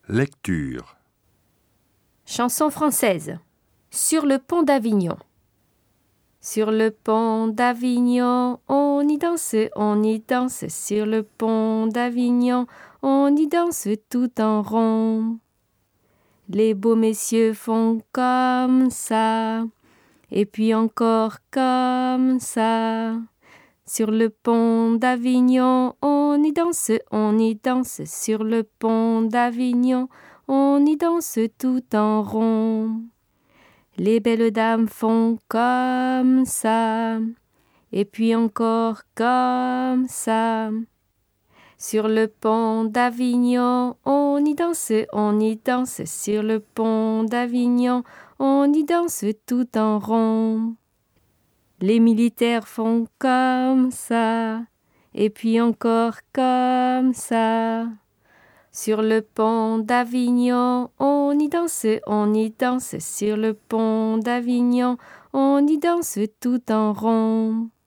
Lecture. Chanson française. Sur le pont d'Avignon. Sur le pont d'Avignon, on y danse, sur le pont d'Avignon, on y danse tout en rond. Les beaux messieurs font comme ça, et puis encore comme ça. Sur le pont d'Avignon, on y danse, sur le pont d'Avignon, on y danse tout en rond. Les belles dames font comme ça, et puis encore comme ça. Sur le pont d'Avignon, on y danse, sur le pont d'Avignon, on y danse tout en rond. Les militaires font comme ça, et puis encore comme ça. Sur le pont d'Avignon, on y danse, sur le pont d'Avignon, on y danse tout en rond.